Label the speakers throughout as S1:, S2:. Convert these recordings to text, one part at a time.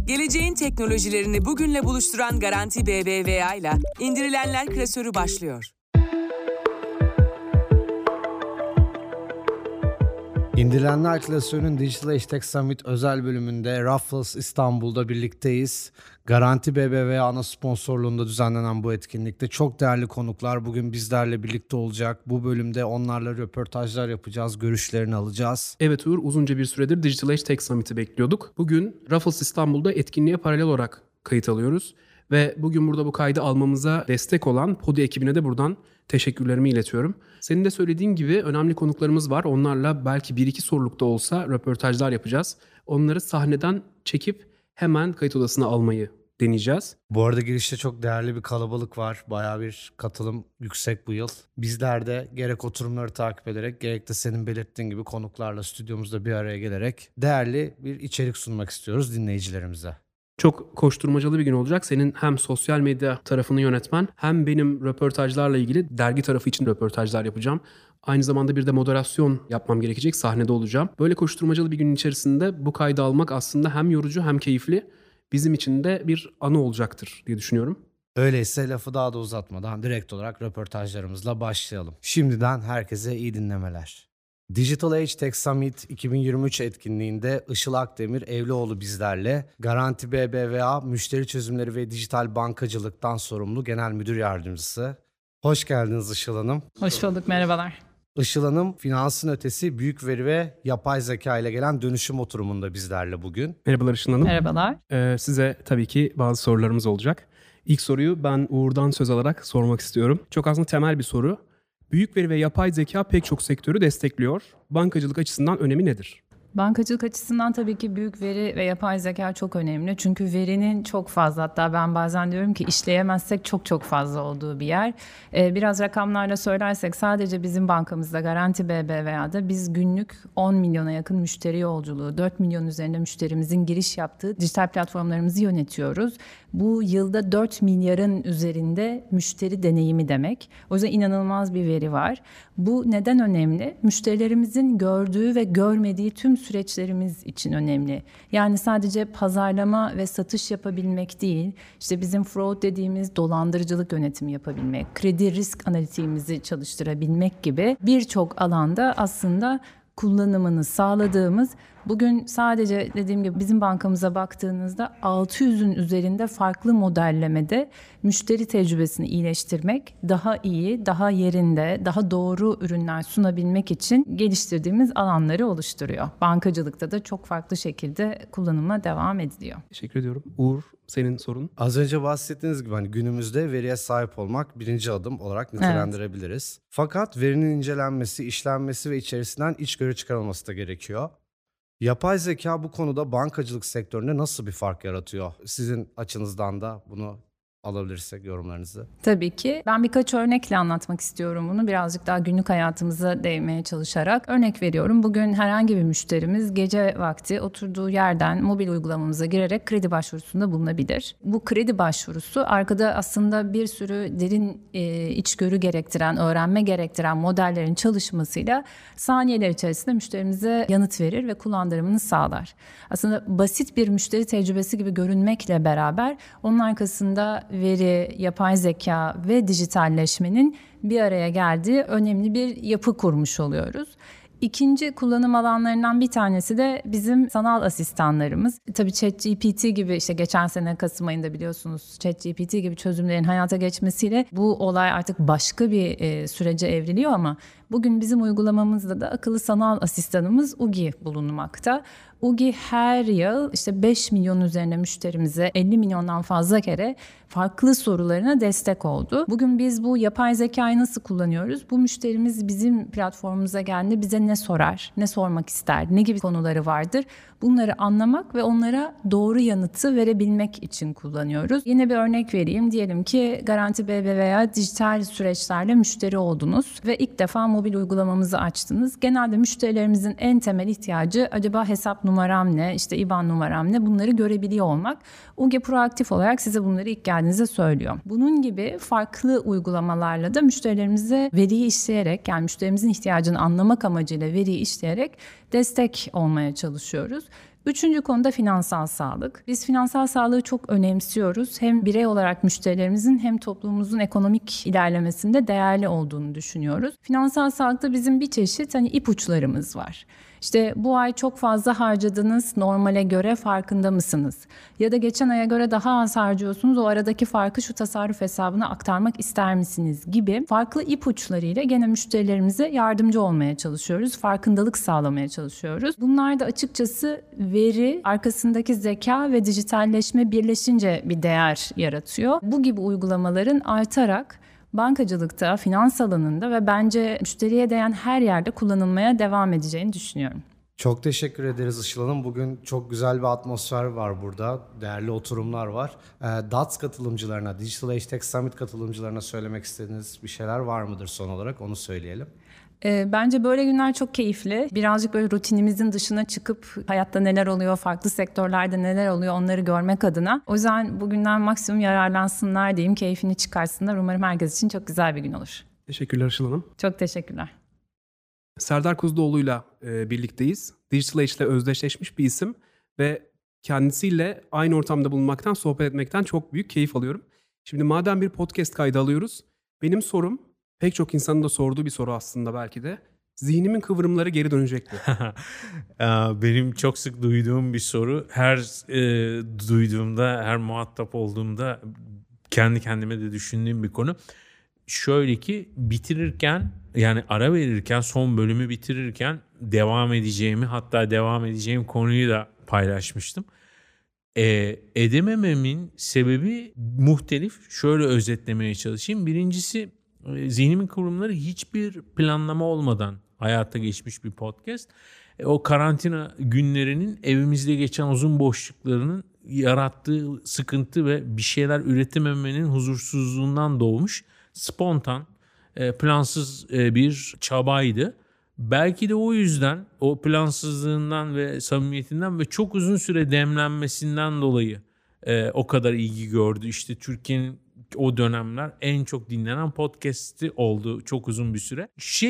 S1: Geleceğin teknolojilerini bugünle buluşturan Garanti BBVA ile indirilenler klasörü başlıyor.
S2: İndirilenler klasörünün Digital Age Tech Summit özel bölümünde Raffles İstanbul'da birlikteyiz. Garanti BBVA ana sponsorluğunda düzenlenen bu etkinlikte çok değerli konuklar bugün bizlerle birlikte olacak. Bu bölümde onlarla röportajlar yapacağız, görüşlerini alacağız.
S3: Evet Uğur, uzunca bir süredir Digital Age Tech Summit'i bekliyorduk. Bugün Raffles İstanbul'da etkinliğe paralel olarak kayıt alıyoruz. Ve bugün burada bu kaydı almamıza destek olan Podi ekibine de buradan teşekkürlerimi iletiyorum. Senin de söylediğin gibi önemli konuklarımız var. Onlarla belki 1-2 sorulukta olsa röportajlar yapacağız. Onları sahneden çekip hemen kayıt odasına almayı deneyeceğiz.
S2: Bu arada girişte çok değerli bir kalabalık var. Bayağı bir katılım yüksek bu yıl. Bizler de gerek oturumları takip ederek gerek de senin belirttiğin gibi konuklarla stüdyomuzda bir araya gelerek değerli bir içerik sunmak istiyoruz dinleyicilerimize.
S3: Çok koşturmacalı bir gün olacak. Senin hem sosyal medya tarafını yönetmen hem benim röportajlarla ilgili dergi tarafı için röportajlar yapacağım. Aynı zamanda bir de moderasyon yapmam gerekecek. Sahnede olacağım. Böyle koşturmacalı bir günün içerisinde bu kaydı almak aslında hem yorucu hem keyifli. Bizim için de bir anı olacaktır diye düşünüyorum.
S2: Öyleyse lafı daha da uzatmadan direkt olarak röportajlarımızla başlayalım. Şimdiden herkese iyi dinlemeler. Digital Age Tech Summit 2023 etkinliğinde Işıl Akdemir Evlioğlu bizlerle. Garanti BBVA Müşteri Çözümleri ve Dijital Bankacılık'tan sorumlu Genel Müdür Yardımcısı. Hoş geldiniz Işıl Hanım.
S4: Hoş bulduk, merhabalar.
S2: Işıl Hanım, finansın ötesi büyük veri ve yapay zeka ile gelen dönüşüm oturumunda bizlerle bugün.
S3: Merhabalar Işıl Hanım.
S4: Merhabalar.
S3: Size tabii ki bazı sorularımız olacak. İlk soruyu ben Uğur'dan söz alarak sormak istiyorum. Çok aslında temel bir soru. Büyük veri ve yapay zeka pek çok sektörü destekliyor. Bankacılık açısından önemi nedir?
S4: Bankacılık açısından tabii ki büyük veri ve yapay zeka çok önemli. Çünkü verinin çok fazla, hatta ben bazen diyorum ki işleyemezsek çok fazla olduğu bir yer. Biraz rakamlarla söylersek sadece bizim bankamızda Garanti BBVA'da biz günlük 10 milyona yakın müşteri yolculuğu, 4 milyon üzerinde müşterimizin giriş yaptığı dijital platformlarımızı yönetiyoruz. Bu yılda 4 milyarın üzerinde müşteri deneyimi demek. O yüzden inanılmaz bir veri var. Bu neden önemli? Müşterilerimizin gördüğü ve görmediği tüm süreçlerimiz için önemli. Yani sadece pazarlama ve satış yapabilmek değil, işte bizim fraud dediğimiz dolandırıcılık yönetimi yapabilmek, kredi risk analitiğimizi çalıştırabilmek gibi birçok alanda aslında kullanımını sağladığımız, bugün sadece dediğim gibi bizim bankamıza baktığınızda 600'ün üzerinde farklı modellemede müşteri tecrübesini iyileştirmek, daha iyi, daha yerinde, daha doğru ürünler sunabilmek için geliştirdiğimiz alanları oluşturuyor. Bankacılıkta da çok farklı şekilde kullanıma devam ediliyor.
S3: Teşekkür ediyorum. Uğur, senin sorun.
S2: Az önce bahsettiğiniz gibi günümüzde veriye sahip olmak birinci adım olarak nitelendirebiliriz. Evet. Fakat verinin incelenmesi, işlenmesi ve içerisinden içgörü çıkarılması da gerekiyor. Yapay zeka bu konuda bankacılık sektöründe nasıl bir fark yaratıyor? Sizin açınızdan da bunu alabilirsek yorumlarınızı.
S4: Tabii ki. Ben birkaç örnekle anlatmak istiyorum bunu. Birazcık daha günlük hayatımıza değmeye çalışarak. Örnek veriyorum. Bugün herhangi bir müşterimiz gece vakti oturduğu yerden mobil uygulamamıza girerek kredi başvurusunda bulunabilir. Bu kredi başvurusu arkada aslında bir sürü derin içgörü gerektiren, öğrenme gerektiren modellerin çalışmasıyla saniyeler içerisinde müşterimize yanıt verir ve kullandırımını sağlar. Aslında basit bir müşteri tecrübesi gibi görünmekle beraber onun arkasında veri, yapay zeka ve dijitalleşmenin bir araya geldiği önemli bir yapı kurmuş oluyoruz. İkinci kullanım alanlarından bir tanesi de bizim sanal asistanlarımız. Tabii ChatGPT gibi işte geçen sene Kasım ayında biliyorsunuz ChatGPT gibi çözümlerin hayata geçmesiyle bu olay artık başka bir sürece evriliyor ama bugün bizim uygulamamızda da akıllı sanal asistanımız Ugi bulunmakta. Ugi her yıl işte 5 milyon üzerine müşterimize 50 milyondan fazla kere farklı sorularına destek oldu. Bugün biz bu yapay zekayı nasıl kullanıyoruz? Bu müşterimiz bizim platformumuza geldiğinde bize ne sorar, ne sormak ister, ne gibi konuları vardır? Bunları anlamak ve onlara doğru yanıtı verebilmek için kullanıyoruz. Yine bir örnek vereyim. Diyelim ki Garanti BBVA dijital süreçlerle müşteri oldunuz ve ilk defa mobil uygulamamızı açtınız. Genelde müşterilerimizin en temel ihtiyacı acaba hesap numaram ne, işte IBAN numaram ne, bunları görebiliyor olmak. Ugi proaktif olarak size bunları ilk geldiğinizde söylüyor. Bunun gibi farklı uygulamalarla da müşterilerimize veriyi işleyerek, yani müşterimizin ihtiyacını anlamak amacıyla veriyi işleyerek destek olmaya çalışıyoruz. Üçüncü konu da finansal sağlık. Biz finansal sağlığı çok önemsiyoruz. Hem birey olarak müşterilerimizin hem toplumumuzun ekonomik ilerlemesinde değerli olduğunu düşünüyoruz. Finansal sağlıkta bizim bir çeşit ipuçlarımız var. İşte bu ay çok fazla harcadınız, normale göre farkında mısınız? Ya da geçen aya göre daha az harcıyorsunuz, o aradaki farkı şu tasarruf hesabına aktarmak ister misiniz gibi farklı ipuçlarıyla gene müşterilerimize yardımcı olmaya çalışıyoruz, farkındalık sağlamaya çalışıyoruz. Bunlar da açıkçası veri, arkasındaki zeka ve dijitalleşme birleşince bir değer yaratıyor. Bu gibi uygulamaların artarak bankacılıkta, finans alanında ve bence müşteriye değen her yerde kullanılmaya devam edeceğini düşünüyorum.
S2: Çok teşekkür ederiz Işıl Hanım. Bugün çok güzel bir atmosfer var burada. Değerli oturumlar var. DATS katılımcılarına, Digital Age Tech Summit katılımcılarına söylemek istediğiniz bir şeyler var mıdır son olarak? Onu söyleyelim.
S4: Bence böyle günler çok keyifli. Birazcık böyle rutinimizin dışına çıkıp hayatta neler oluyor, farklı sektörlerde neler oluyor onları görmek adına. O yüzden bugünden maksimum yararlansınlar diyeyim, keyfini çıkarsınlar. Umarım herkes için çok güzel bir gün olur.
S3: Teşekkürler Işıl Hanım.
S4: Çok teşekkürler.
S3: Serdar Kuzuloğlu'yla birlikteyiz. Digital Age ile özdeşleşmiş bir isim ve kendisiyle aynı ortamda bulunmaktan, sohbet etmekten çok büyük keyif alıyorum. Şimdi madem bir podcast kaydı alıyoruz, benim sorum pek çok insanın da sorduğu bir soru aslında belki de. Zihnimin kıvrımları geri dönecek mi?
S5: Benim çok sık duyduğum bir soru. Her duyduğumda, her muhatap olduğumda kendi kendime de düşündüğüm bir konu. Şöyle ki bitirirken, yani ara verirken, son bölümü bitirirken devam edeceğimi, hatta devam edeceğim konuyu da paylaşmıştım. Edemememin sebebi muhtelif. Şöyle özetlemeye çalışayım. Birincisi, zihnimin kıvrımları hiçbir planlama olmadan hayata geçmiş bir podcast. O karantina günlerinin evimizde geçen uzun boşluklarının yarattığı sıkıntı ve bir şeyler üretememenin huzursuzluğundan doğmuş spontan, plansız bir çabaydı. Belki de o yüzden, o plansızlığından ve samimiyetinden ve çok uzun süre demlenmesinden dolayı o kadar ilgi gördü. İşte Türkiye'nin o dönemler en çok dinlenen podcast'i oldu çok uzun bir süre.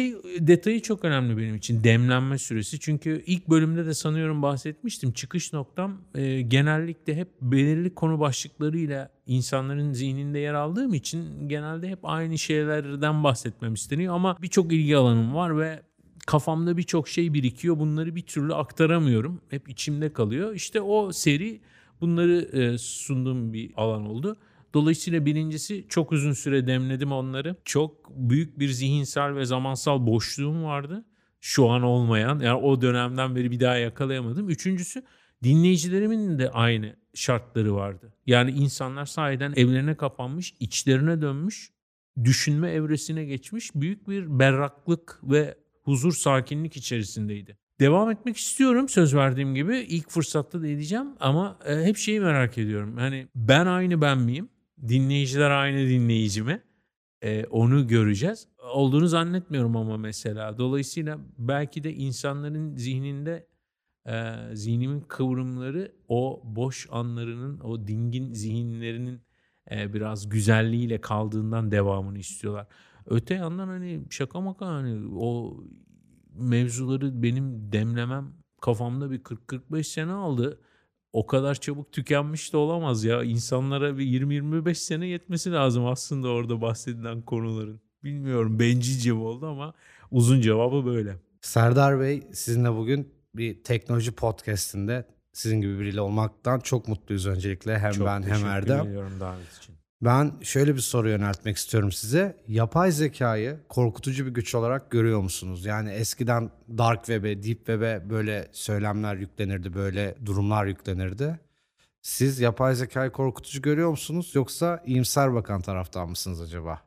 S5: Detayı çok önemli benim için, demlenme süresi. Çünkü ilk bölümde de sanıyorum bahsetmiştim. Çıkış noktam genellikle hep belirli konu başlıklarıyla insanların zihninde yer aldığım için genelde hep aynı şeylerden bahsetmem isteniyor. Ama birçok ilgi alanım var ve kafamda birçok şey birikiyor. Bunları bir türlü aktaramıyorum. Hep içimde kalıyor. İşte o seri bunları sunduğum bir alan oldu. Dolayısıyla birincisi, çok uzun süre demledim onları. Çok büyük bir zihinsel ve zamansal boşluğum vardı. Şu an olmayan, yani o dönemden beri bir daha yakalayamadım. Üçüncüsü, dinleyicilerimin de aynı şartları vardı. Yani insanlar sahiden evlerine kapanmış, içlerine dönmüş, düşünme evresine geçmiş, büyük bir berraklık ve huzur, sakinlik içerisindeydi. Devam etmek istiyorum, söz verdiğim gibi. İlk fırsatta da edeceğim ama hep şeyi merak ediyorum. Hani ben aynı ben miyim? Dinleyiciler aynı dinleyici mi? Onu göreceğiz. Olduğunu zannetmiyorum ama mesela. Dolayısıyla belki de insanların zihninde zihnimin kıvrımları o boş anlarının, o dingin zihinlerinin biraz güzelliğiyle kaldığından devamını istiyorlar. Öte yandan hani şaka maka, hani o mevzuları benim demlemem kafamda bir 40-45 sene aldı. O kadar çabuk tükenmiş de olamaz ya. İnsanlara bir 20-25 sene yetmesi lazım aslında orada bahsedilen konuların. Bilmiyorum, bencilce mi oldu ama uzun cevabı böyle.
S2: Serdar Bey, sizinle bugün bir teknoloji podcastinde sizin gibi biriyle olmaktan çok mutluyuz öncelikle. Hem
S5: çok
S2: ben hem Erdem.
S5: teşekkür ediyorum davet için.
S2: Ben şöyle bir soru yöneltmek istiyorum size. Yapay zekayı korkutucu bir güç olarak görüyor musunuz? Yani eskiden Dark Web'e, Deep Web'e böyle söylemler yüklenirdi, böyle durumlar yüklenirdi. Siz yapay zekayı korkutucu görüyor musunuz, yoksa iyimser bakan taraftan mısınız acaba?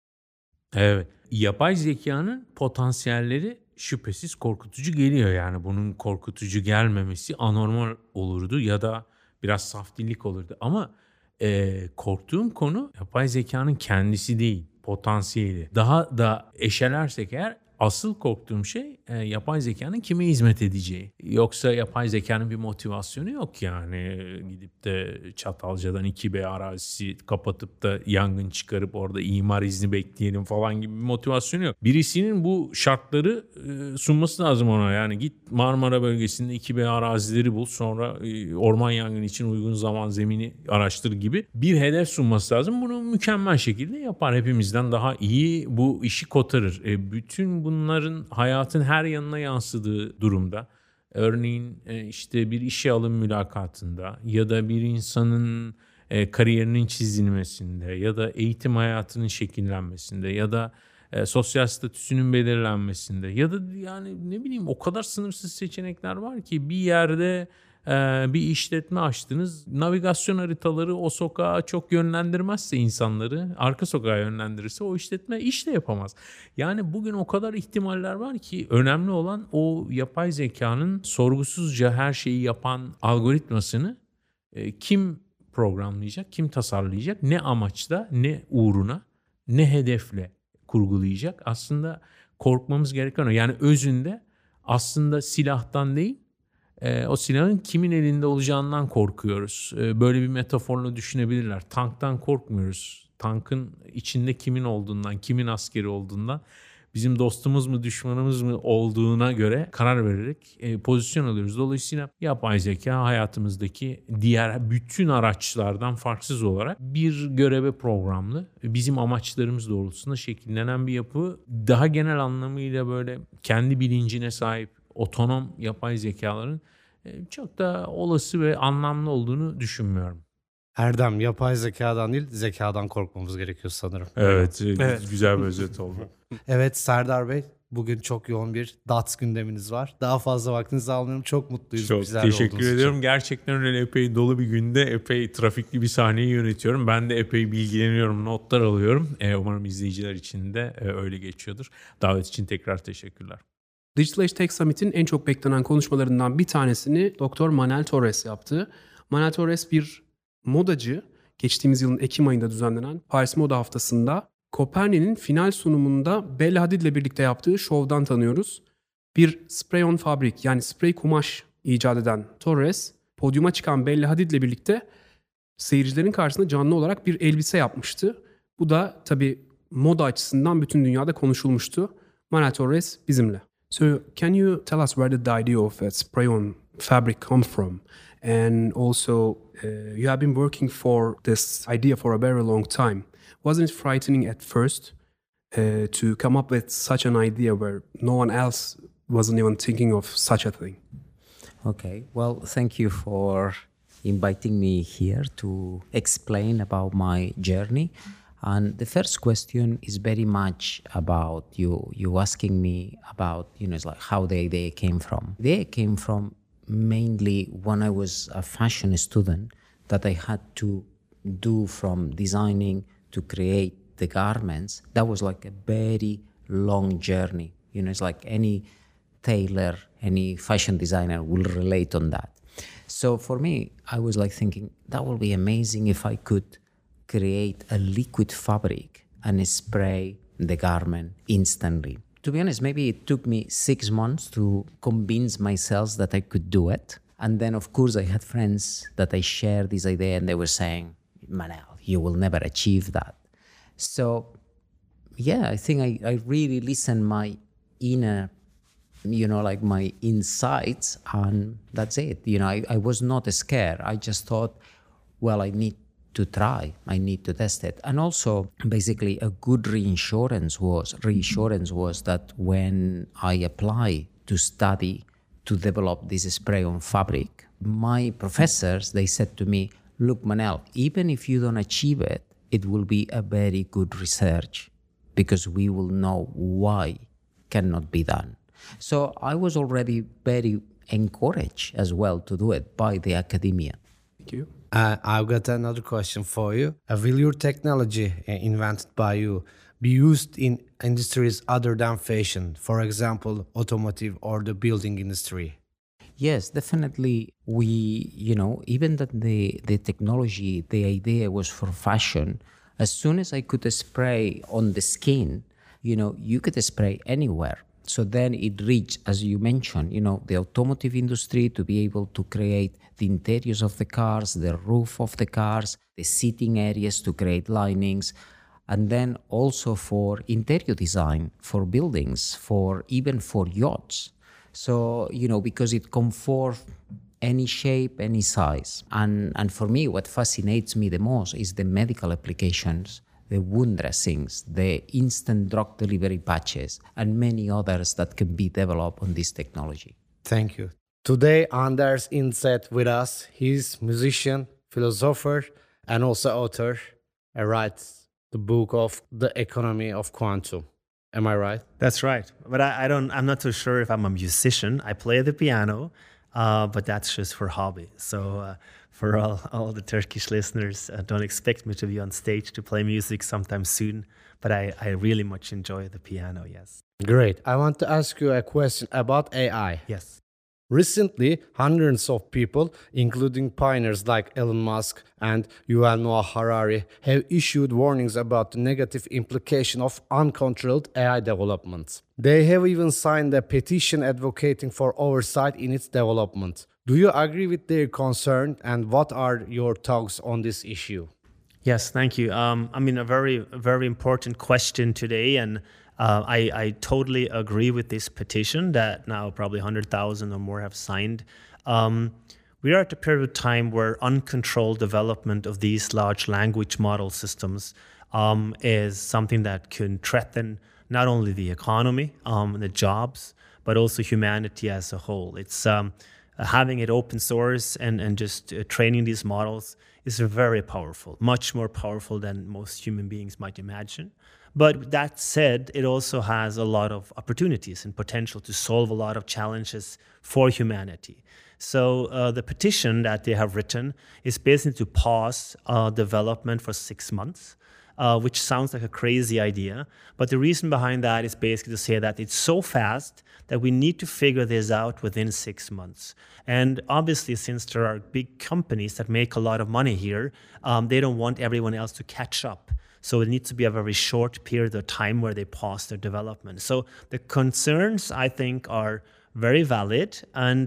S5: Evet. Yapay zekanın potansiyelleri şüphesiz korkutucu geliyor. Yani bunun korkutucu gelmemesi anormal olurdu ya da biraz saf dillik olurdu. Ama korktuğum konu yapay zekanın kendisi değil, potansiyeli. Daha da eşelersek eğer asıl korktuğum şey yapay zekanın kime hizmet edeceği. Yoksa yapay zekanın bir motivasyonu yok yani. Gidip de Çatalca'dan 2B arazisi kapatıp da yangın çıkarıp orada imar izni bekleyelim falan gibi bir motivasyonu yok. Birisinin bu şartları sunması lazım ona. Yani git Marmara bölgesinde 2B arazileri bul, sonra orman yangını için uygun zaman zemini araştır gibi bir hedef sunması lazım. Bunu mükemmel şekilde yapar. Hepimizden daha iyi bu işi kotarır. Bütün bunların hayatın her yanına yansıdığı durumda, örneğin işte bir işe alım mülakatında ya da bir insanın kariyerinin çizilmesinde ya da eğitim hayatının şekillenmesinde ya da sosyal statüsünün belirlenmesinde ya da yani ne bileyim o kadar sınırsız seçenekler var ki bir yerde bir işletme açtınız. Navigasyon haritaları o sokağa çok yönlendirmezse insanları, arka sokağa yönlendirirse o işletme iş de yapamaz. Yani bugün o kadar ihtimaller var ki önemli olan o yapay zekanın sorgusuzca her şeyi yapan algoritmasını kim programlayacak, kim tasarlayacak, ne amaçla, ne uğruna, ne hedefle kurgulayacak. Aslında korkmamız gereken o. Yani özünde aslında silahtan değil, o silahın kimin elinde olacağından korkuyoruz. Böyle bir metaforla düşünebilirler. Tanktan korkmuyoruz. Tankın içinde kimin olduğundan, kimin askeri olduğundan, bizim dostumuz mu düşmanımız mı olduğuna göre karar vererek pozisyon alıyoruz. Dolayısıyla yapay zeka hayatımızdaki diğer bütün araçlardan farksız olarak bir göreve programlı, bizim amaçlarımız doğrultusunda şekillenen bir yapı. Daha genel anlamıyla böyle kendi bilincine sahip otonom yapay zekaların çok da olası ve anlamlı olduğunu düşünmüyorum.
S2: Erdem, yapay zekadan değil zekadan korkmamız gerekiyor sanırım.
S5: Evet. Güzel bir özet oldu.
S2: Evet Serdar Bey, bugün çok yoğun bir DATS gündeminiz var. Daha fazla vaktinizi almıyorum. Çok mutluyuz.
S5: Çok teşekkür ediyorum.
S2: Için.
S5: Gerçekten öyle epey dolu bir günde epey trafikli bir sahneyi yönetiyorum. Ben de epey bilgileniyorum, notlar alıyorum. Umarım izleyiciler için de öyle geçiyordur. Davet için tekrar teşekkürler.
S3: Digital Age Tech Summit'in en çok beklenen konuşmalarından bir tanesini Dr. Manel Torres yaptı. Manel Torres bir modacı. Geçtiğimiz yılın Ekim ayında düzenlenen Paris Moda Haftası'nda Coperni'nin final sunumunda Bella Hadid ile birlikte yaptığı şovdan tanıyoruz. Bir spray-on fabrik, yani sprey kumaş icat eden Torres, podyuma çıkan Bella Hadid ile birlikte seyircilerin karşısında canlı olarak bir elbise yapmıştı. Bu da tabii moda açısından bütün dünyada konuşulmuştu. Manel Torres bizimle. So, can you tell us where did the idea of that spray-on fabric come from? And also, you have been working for this idea for a very long time. Wasn't it frightening at first to come up with such an idea where no one else wasn't even thinking of such a thing?
S6: Okay, well, thank you for inviting me here to explain about my journey. And the first question is very much about you asking me about, it's like how the idea came from. The idea came from mainly when I was a fashion student, that I had to do from designing to create the garments. That was like a very long journey. It's like any tailor, any fashion designer will relate on that. So for me, I was like thinking that would be amazing if I could create a liquid fabric and spray the garment instantly. To be honest, maybe it took me 6 months to convince myself that I could do it. And then, of course, I had friends that I shared this idea and they were saying, Manel, you will never achieve that. So, yeah, I think I really listened my inner, like my insights, and that's it. I was not scared. I just thought, well, I need to try. I need to test it. And also, basically, a good reassurance was that when I applied to study to develop this spray-on fabric, my professors, they said to me, look, Manel, even if you don't achieve it, it will be a very good research because we will know why cannot be done. So I was already very encouraged as well to do it by the academia.
S3: Thank you.
S2: I've got another question for you. Will your technology invented by you be used in industries other than fashion, for example, automotive or the building industry?
S6: Yes, definitely. We, even that the technology, the idea was for fashion, as soon as I could spray on the skin, you could spray anywhere. So then it reached, as you mentioned, the automotive industry to be able to create the interiors of the cars, the roof of the cars, the seating areas to create linings, and then also for interior design, for buildings, even for yachts. So, because it comforts any shape, any size. And for me, what fascinates me the most is the medical applications, the wound dressings, the instant drug delivery patches, and many others that can be developed on this technology.
S2: Thank you. Today, Anders Inseth with us. He's musician, philosopher, and also author. He writes the book of The Economy of Quantum. Am I right?
S7: That's right. But I'm not so sure if I'm a musician. I play the piano, but that's just for hobby. So for all the Turkish listeners, don't expect me to be on stage to play music sometime soon. But I really much enjoy the piano, yes.
S2: Great. I want to ask you a question about AI.
S7: Yes.
S2: Recently, hundreds of people, including pioneers like Elon Musk and Yuval Noah Harari, have issued warnings about the negative implication of uncontrolled AI development. They have even signed a petition advocating for oversight in its development. Do you agree with their concern, and what are your thoughts on this issue?
S7: Yes, thank you. A very, very important question today, and I totally agree with this petition that now probably 100,000 or more have signed. We are at a period of time where uncontrolled development of these large language model systems is something that can threaten not only the economy, the jobs, but also humanity as a whole. It's having it open source and just training these models is very powerful, much more powerful than most human beings might imagine. But that said, it also has a lot of opportunities and potential to solve a lot of challenges for humanity. So the petition that they have written is basically to pause development for 6 months, which sounds like a crazy idea. But the reason behind that is basically to say that it's so fast that we need to figure this out within 6 months. And obviously, since there are big companies that make a lot of money here, they don't want everyone else to catch up. So it needs to be a very short period of time where they pause their development. So the concerns, I think, are very valid,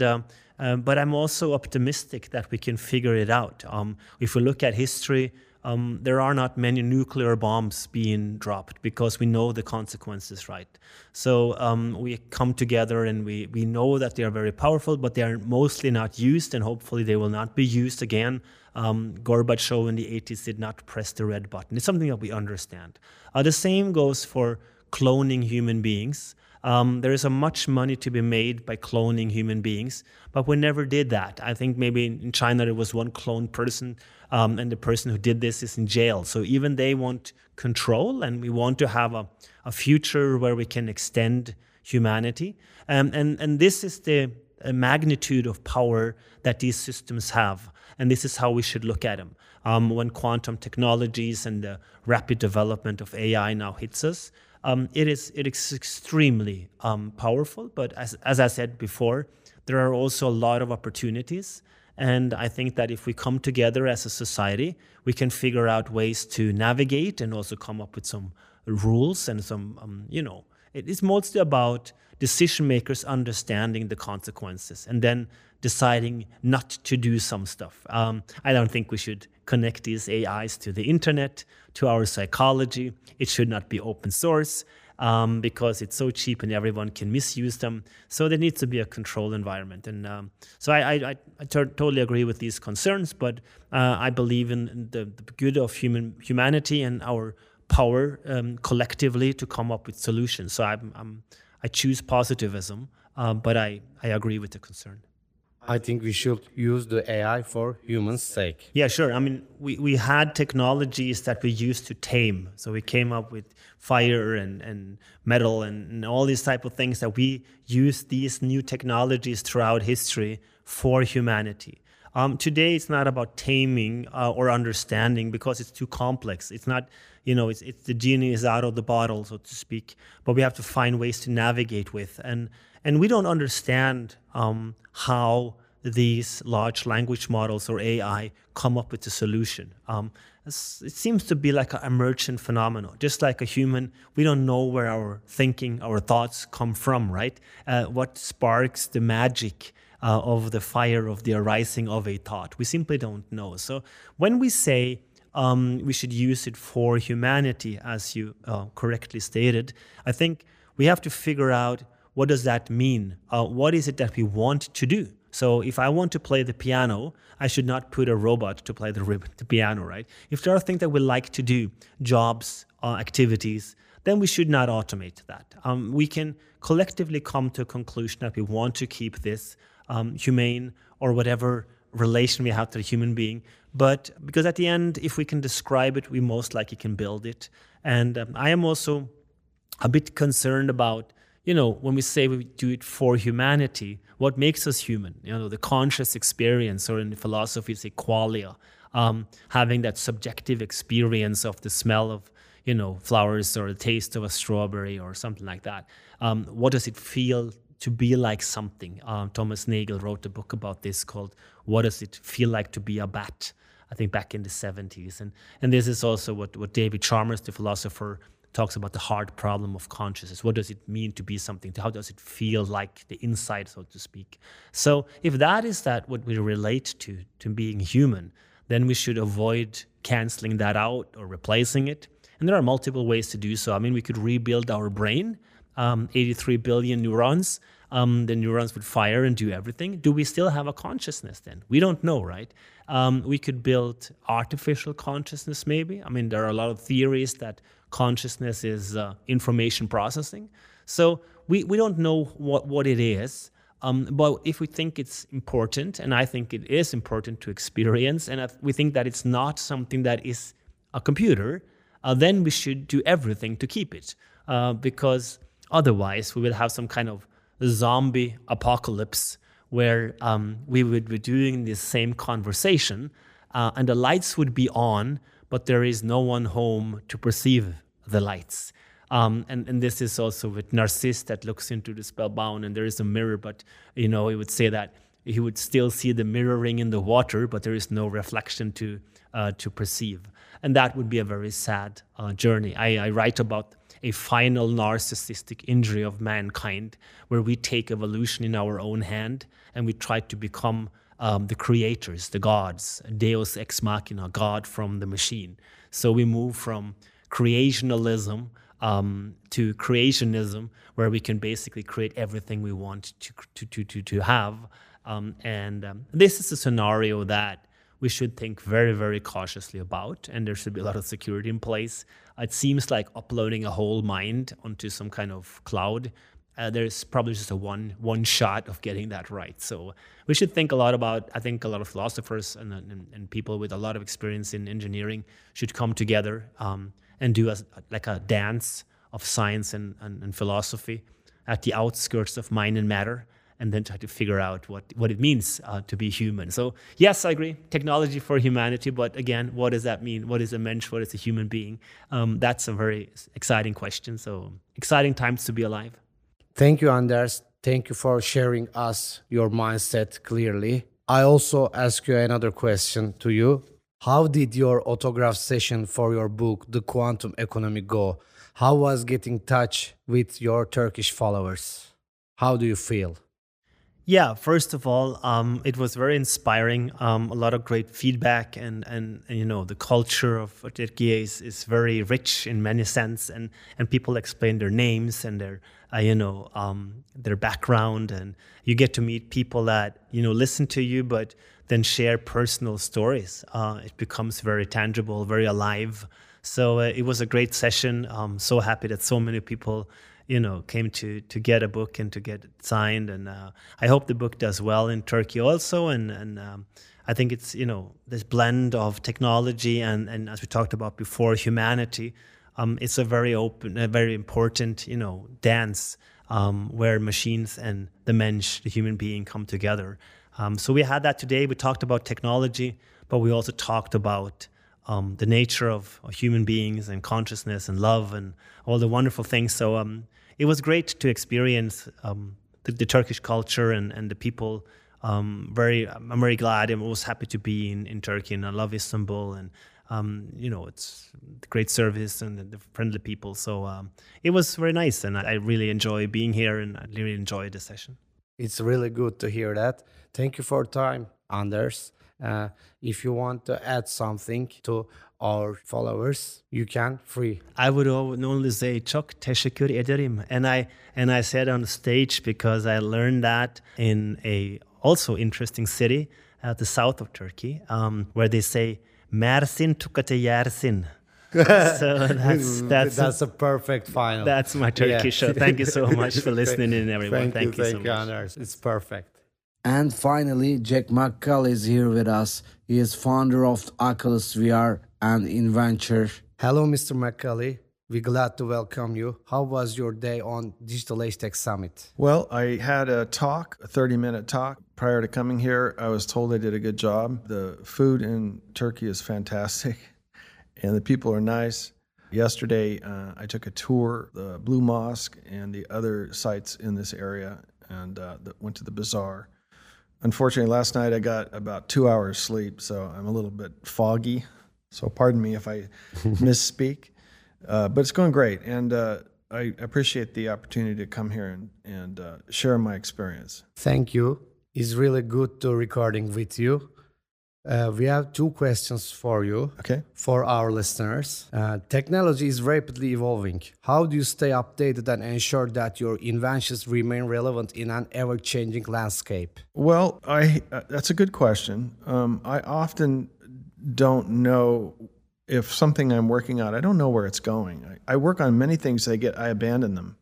S7: but I'm also optimistic that we can figure it out. If we look at history, there are not many nuclear bombs being dropped because we know the consequences, right? So we come together and we know that they are very powerful, but they are mostly not used, and hopefully they will not be used again. Gorbachev in the 80s did not press the red button. It's something that we understand. The same goes for cloning human beings. There is a much money to be made by cloning human beings, but we never did that. I think maybe in China there was one cloned person, and the person who did this is in jail. So even they want control, and we want to have a future where we can extend humanity. And this is the magnitude of power that these systems have. And this is how we should look at them. When quantum technologies and the rapid development of AI now hits us, it is extremely powerful. But as I said before, there are also a lot of opportunities. And I think that if we come together as a society, we can figure out ways to navigate and also come up with some rules and some, it is mostly about decision makers understanding the consequences and then deciding not to do some stuff. I don't think we should connect these AIs to the internet, to our psychology. It should not be open source because it's so cheap and everyone can misuse them. So there needs to be a controlled environment. And so I totally agree with these concerns, but I believe in the good of humanity and our power collectively to come up with solutions. So I choose positivism, but I agree with the concern.
S2: I think we should use the AI for humans' sake.
S7: Yeah, sure. I mean, we had technologies that we used to tame. So we came up with fire and metal and all these type of things that we use these new technologies throughout history for humanity. Today, it's not about taming or understanding because it's too complex. It's not, it's the genie is out of the bottle, so to speak. But we have to find ways to navigate with. And we don't understand how these large language models or AI come up with a solution. It seems to be like an emergent phenomenon. Just like a human, we don't know where our thinking, our thoughts come from, right? What sparks the magic of the fire of the arising of a thought? We simply don't know. So when we say we should use it for humanity, as you correctly stated, I think we have to figure out, what does that mean? What is it that we want to do? So if I want to play the piano, I should not put a robot to play the piano, right? If there are things that we like to do, jobs, activities, then we should not automate that. We can collectively come to a conclusion that we want to keep this humane or whatever relation we have to the human being. But because at the end, if we can describe it, we most likely can build it. And I am also a bit concerned about, when we say we do it for humanity, what makes us human? The conscious experience, or in philosophy, it's qualia, having that subjective experience of the smell of, flowers, or the taste of a strawberry or something like that. What does it feel to be like something? Thomas Nagel wrote a book about this called What Does It Feel Like to Be a Bat? I think back in the 70s. And this is also what David Chalmers, the philosopher, talks about, the hard problem of consciousness. What does it mean to be something? How does it feel like the inside, so to speak? So if that is what we relate to being human, then we should avoid canceling that out or replacing it. And there are multiple ways to do so. I mean, we could rebuild our brain, 83 billion neurons. The neurons would fire and do everything. Do we still have a consciousness then? We don't know, right? We could build artificial consciousness maybe. I mean, there are a lot of theories that consciousness is information processing. So we don't know what it is. But if we think it's important, and I think it is important to experience, and we think that it's not something that is a computer, then we should do everything to keep it. Because otherwise we will have some kind of zombie apocalypse where we would be doing the same conversation and the lights would be on, but there is no one home to perceive the lights. And this is also with Narcissus that looks into the spellbound, and there is a mirror, but he would say that he would still see the mirroring in the water, but there is no reflection to perceive. And that would be a very sad journey. I write about a final narcissistic injury of mankind, where we take evolution in our own hand and we try to become the creators, the gods, Deus ex machina, God from the machine. So we move from creationalism to creationism, where we can basically create everything we want to have. This is a scenario that we should think very, very cautiously about, and there should be a lot of security in place. It seems like uploading a whole mind onto some kind of cloud. There's probably just a one shot of getting that right. So we should think a lot about, I think a lot of philosophers and people with a lot of experience in engineering should come together and do a dance of science and philosophy at the outskirts of mind and matter, and then try to figure out what it means to be human. So yes, I agree, technology for humanity, but again, what does that mean? What is a mensch? What is a human being? That's a very exciting question. So exciting times to be alive.
S2: Thank you, Anders. Thank you for sharing us your mindset clearly. I also ask you another question to you. How did your autograph session for your book, The Quantum Economy, go? How was getting in touch with your Turkish followers? How do you feel?
S7: Yeah, first of all, it was very inspiring. A lot of great feedback, and the culture of Turkey is very rich in many sense, and people explain their names and their background, and you get to meet people that listen to you, but then share personal stories. It becomes very tangible, very alive. So it was a great session. I'm so happy that so many people came to get a book and to get it signed. And I hope the book does well in Turkey also. And I think it's, this blend of technology and as we talked about before, humanity. It's a very open, a very important, dance where machines and the mensch, the human being, come together. So we had that today. We talked about technology, but we also talked about the nature of human beings and consciousness and love and all the wonderful things. So it was great to experience the Turkish culture and the people I'm very glad. I was happy to be in Turkey, and I love Istanbul, and it's great service and the friendly people. So it was very nice, and I really enjoy being here, and I really enjoy the session.
S2: It's really good to hear that. Thank you for your time, Anders. If you want to add something to our followers, you can free.
S7: I would only say çok teşekkür ederim, and I said on the stage because I learned that in a also interesting city at the south of Turkey, where they say Mersin tukate yersin. So
S2: that's a perfect final.
S7: That's my Turkish show. Thank you so much for listening in, everyone. Thank you so much.
S2: Anders. It's perfect. And finally, Jack McCulley is here with us. He is founder of Oculus VR and inventor. Hello, Mr. McCulley. We're glad to welcome you. How was your day on Digital Age Tech Summit?
S8: Well, I had a 30-minute talk. Prior to coming here, I was told I did a good job. The food in Turkey is fantastic, and the people are nice. Yesterday, I took a tour, the Blue Mosque and the other sites in this area, and went to the bazaar. Unfortunately, last night I got about 2 hours sleep, so I'm a little bit foggy. So pardon me if I misspeak. But it's going great, and I appreciate the opportunity to come here and share my experience.
S2: Thank you. It's really good to recording with you. We have 2 questions for you, for our listeners. Technology is rapidly evolving. How do you stay updated and ensure that your inventions remain relevant in an ever-changing landscape?
S8: Well, that's a good question. I often don't know if something I'm working on, I don't know where it's going. I work on many things, I abandon them.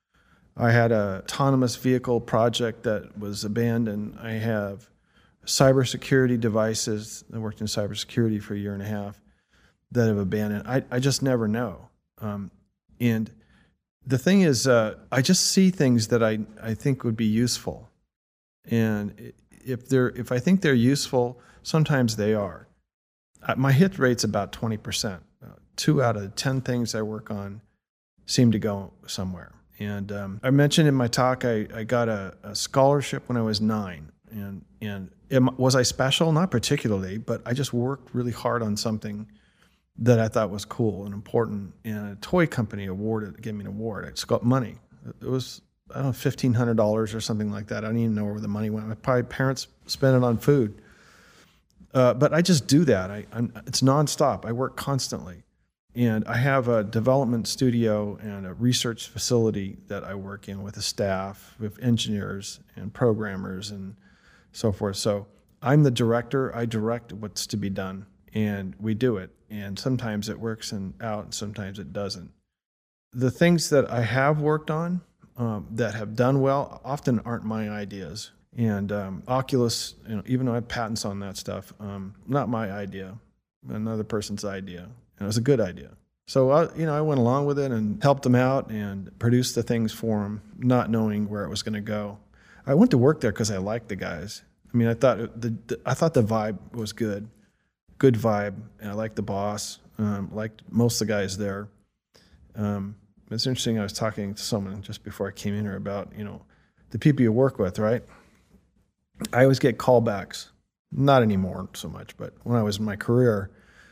S8: I had an autonomous vehicle project that was abandoned. I have cybersecurity devices. I worked in cybersecurity for a year and a half that have abandoned. I just never know. And the thing is, I just see things that I think would be useful. And if I think they're useful, sometimes they are. My hit rate's about 20%. 2 out of 10 things I work on seem to go somewhere. And I mentioned in my talk, I got a scholarship when I was 9. And was I special? Not particularly, but I just worked really hard on something that I thought was cool and important. And a toy company gave me an award. I just got money. It was, I don't know, $1,500 or something like that. I don't even know where the money went. My probably parents spent it on food. But I just do that. It's nonstop. I work constantly. And I have a development studio and a research facility that I work in with a staff, with engineers and programmers and so forth. So I'm the director. I direct what's to be done, and we do it. And sometimes it works out, and sometimes it doesn't. The things that I have worked on that have done well often aren't my ideas. And Oculus, even though I have patents on that stuff, not my idea, another person's idea. And it was a good idea. So, I went along with it and helped them out and produced the things for them, not knowing where it was going to go. I went to work there because I liked the guys. I mean, I thought the vibe was good vibe, and I liked the boss, liked most of the guys there. It's interesting, I was talking to someone just before I came in here about, the people you work with, right? I always get callbacks, not anymore so much, but when I was in my career,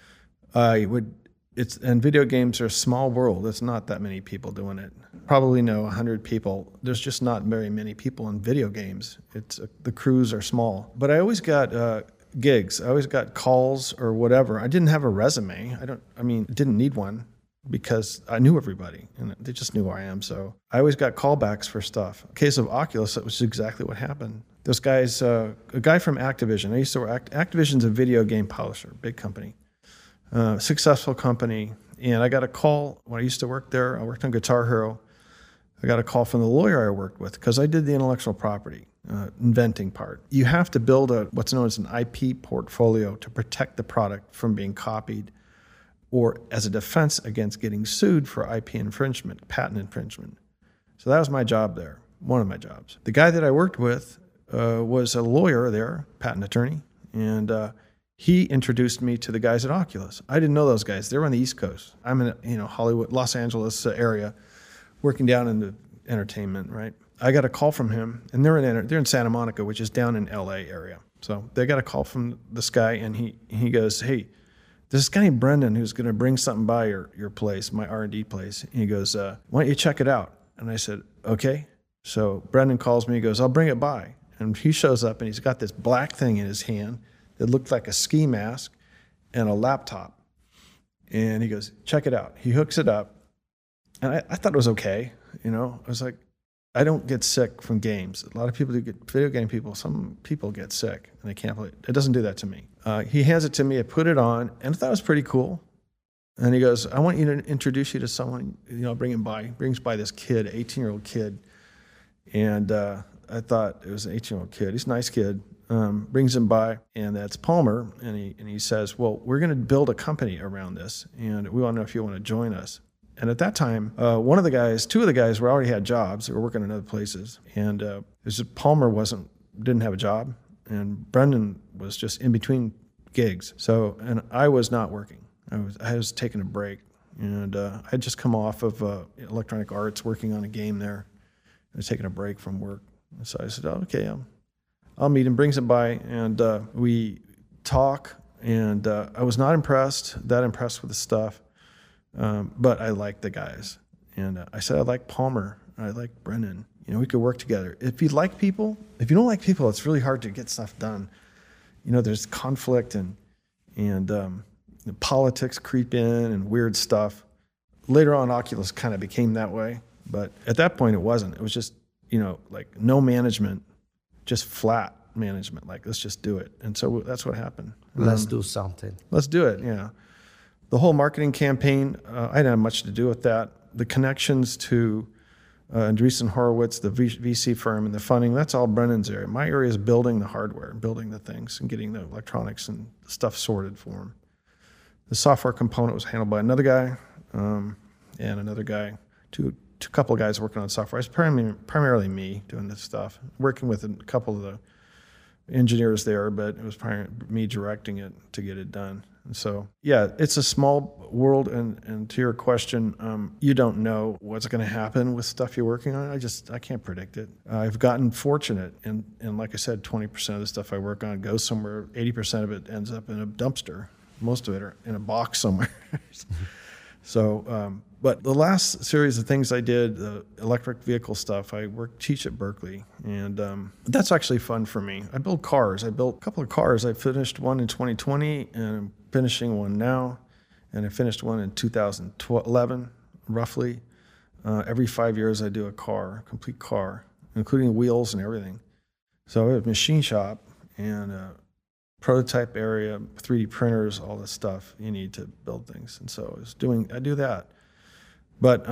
S8: and video games are a small world. It's not that many people doing it. Probably know 100 people. There's just not very many people in video games. The crews are small. But I always got gigs. I always got calls or whatever. I didn't have a resume. Didn't need one because I knew everybody and they just knew who I am. So I always got callbacks for stuff. In the case of Oculus, that was exactly what happened. Those guys, a guy from Activision. I used to work. Activision's a video game publisher, big company. Successful company, and I got a call when I used to work there. I worked on Guitar Hero. I got a call from the lawyer I worked with because I did the intellectual property inventing part. You have to build what's known as an IP portfolio to protect the product from being copied or as a defense against getting sued for IP infringement, patent infringement. So that was my job there, one of my jobs. The guy that I worked with was a lawyer there, patent attorney, and he introduced me to the guys at Oculus. I didn't know those guys. They were on the East Coast. I'm in Hollywood, Los Angeles area, working down in the entertainment, right? I got a call from him, and they're in Santa Monica, which is down in LA area. So they got a call from this guy, and he goes, hey, there's this guy named Brendan who's going to bring something by your place, my R&D place. And he goes, why don't you check it out? And I said, okay. So Brendan calls me, he goes, I'll bring it by. And he shows up, and he's got this black thing in his hand that looked like a ski mask and a laptop. And he goes, check it out. He hooks it up. And I thought it was okay. You know, I was like, I don't get sick from games. A lot of people do get, video game people, some people get sick and they can't play it. It doesn't do that to me. He hands it to me, I put it on, and I thought it was pretty cool. And he goes, I want you to introduce you to someone, you know, bring him by. He brings by this kid, 18-year-old kid. And I thought it was an 18-year-old kid. He's a nice kid. Brings him by, and that's Palmer. And he says, well, we're going to build a company around this, and we want to know if you want to join us. And at that time, two of the guys already had jobs. They were working in other places. And it was just Palmer didn't have a job, and Brendan was just in between gigs. So, and I was not working. I was taking a break, and I had just come off of Electronic Arts, working on a game there. I was taking a break from work. And so I said, oh, okay, I'll meet him. Brings him by, and we talk. And I was not impressed with the stuff. But I like the guys. And I said, I like Palmer. I like Brendan. You know, we could work together. If you don't like people, it's really hard to get stuff done. You know, there's conflict and politics creep in and weird stuff. Later on, Oculus kind of became that way. But at that point, it wasn't. It was just, you know, like no management, just flat management. Like, let's just do it. And so that's what happened.
S2: Let's do something.
S8: Let's do it, yeah. The whole marketing campaign, I didn't have much to do with that. The connections to Andreessen Horowitz, the VC firm, and the funding, that's all Brendan's area. My area is building the hardware, building the things, and getting the electronics and stuff sorted for him. The software component was handled by another guy and another guy, two couple of guys working on software. It's primarily me doing this stuff, working with a couple of the engineers there, but it was primarily me directing it to get it done. And so, yeah, it's a small world, and to your question, you don't know what's going to happen with stuff you're working on. I can't predict it. I've gotten fortunate, and like I said, 20% of the stuff I work on goes somewhere. 80% of it ends up in a dumpster. Most of it are in a box somewhere. So, but the last series of things I did, the electric vehicle stuff, I teach at Berkeley, and that's actually fun for me. I build cars. I built a couple of cars. I finished one in 2020, and I'm finishing one now, and I finished one in 2011, roughly. Every 5 years I do a complete car, including wheels and everything. So I have a machine shop and a prototype area, 3D printers, all this stuff you need to build things. And so I do that. But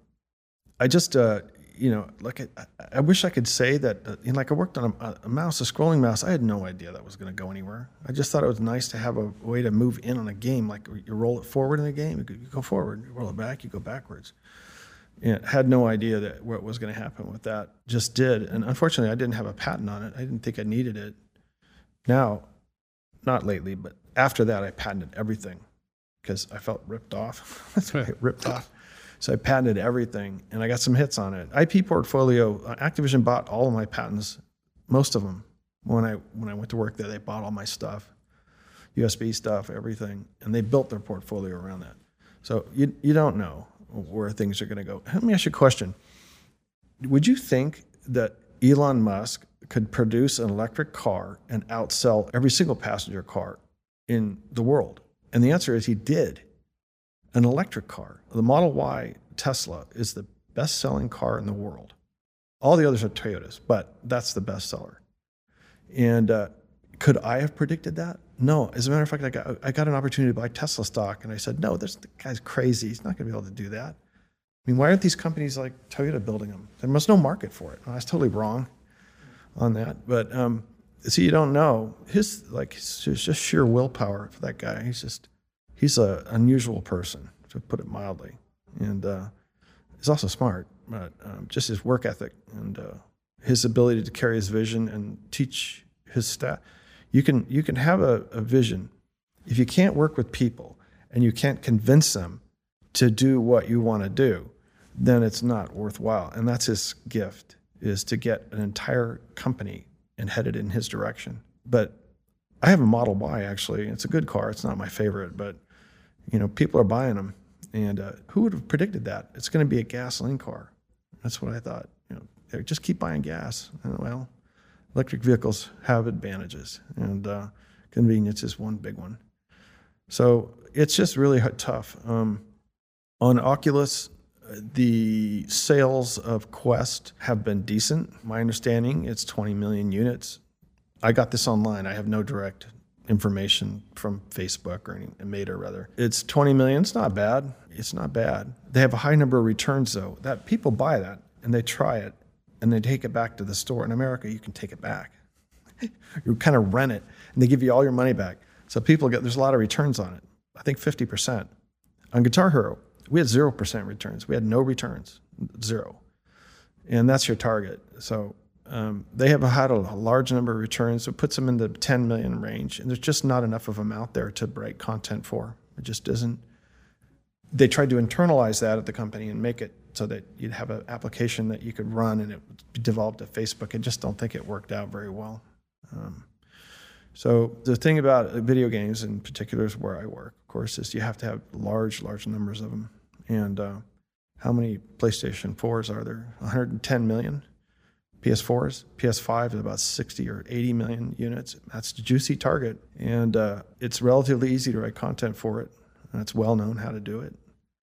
S8: I just, like I wish I could say that, like I worked on a mouse, a scrolling mouse. I had no idea that was going to go anywhere. I just thought it was nice to have a way to move in on a game. Like you roll it forward in a game, you go forward, you roll it back, you go backwards. And had no idea that what was going to happen with that. Just did. And unfortunately, I didn't have a patent on it. I didn't think I needed it. Now, not lately, but after that, I patented everything because I felt ripped off. That's right, ripped off. So I patented everything, and I got some hits on it. IP portfolio, Activision bought all of my patents, most of them. When I went to work there, they bought all my stuff, USB stuff, everything, and they built their portfolio around that. So you don't know where things are going to go. Let me ask you a question. Would you think that Elon Musk could produce an electric car and outsell every single passenger car in the world? And the answer is he did. An electric car, the Model Y Tesla, is the best-selling car in the world. All the others are Toyotas, but that's the best seller. And could I have predicted that? No. As a matter of fact, I got an opportunity to buy Tesla stock, and I said, no, the guy's crazy. He's not going to be able to do that. I mean, why aren't these companies like Toyota building them? There must no market for it. I was totally wrong on that. But see, you don't know. It's just sheer willpower for that guy. He's an unusual person, to put it mildly. And he's also smart, but just his work ethic and his ability to carry his vision and teach his staff. You can have a vision. If you can't work with people and you can't convince them to do what you want to do, then it's not worthwhile. And that's his gift. is to get an entire company and head it in his direction. But I have a Model Y, actually. It's a good car. It's not my favorite, but people are buying them. And who would have predicted that? It's going to be a gasoline car. That's what I thought. Just keep buying gas. Well, electric vehicles have advantages, and convenience is one big one. So it's just really tough. On Oculus, the sales of Quest have been decent. My understanding, it's 20 million units. I got this online. I have no direct information from Facebook or any Meta, rather. It's 20 million. It's not bad. It's not bad. They have a high number of returns, though. That people buy that and they try it and they take it back to the store. In America, you can take it back. You kind of rent it and they give you all your money back. So there's a lot of returns on it. I think 50%. On Guitar Hero, we had 0% returns. We had no returns, 0. And that's your target. So they have had a large number of returns. So it puts them in the 10 million range. And there's just not enough of them out there to write content for. It just isn't. They tried to internalize that at the company and make it so that you'd have an application that you could run and it would be developed at Facebook. I just don't think it worked out very well. So the thing about video games in particular is where I work, of course, is you have to have large numbers of them. And how many PlayStation 4s are there? 110 million. PS4s, PS5 is about 60 or 80 million units. That's a juicy target. And it's relatively easy to write content for it. And it's well known how to do it.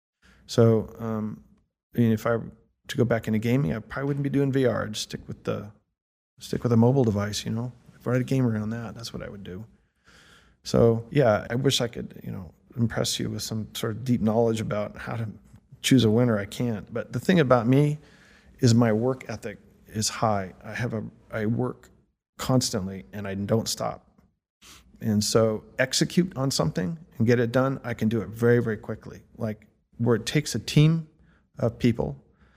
S8: So if I were to go back into gaming, I probably wouldn't be doing VR. I'd stick with a mobile device, If I had a game around that, that's what I would do. So yeah, I wish I could, impress you with some sort of deep knowledge about how to choose a winner. I can't. But the thing about me is my work ethic is high. I work constantly and I don't stop. And so execute on something and get it done, I can do it very, very quickly. Like where it takes a team of people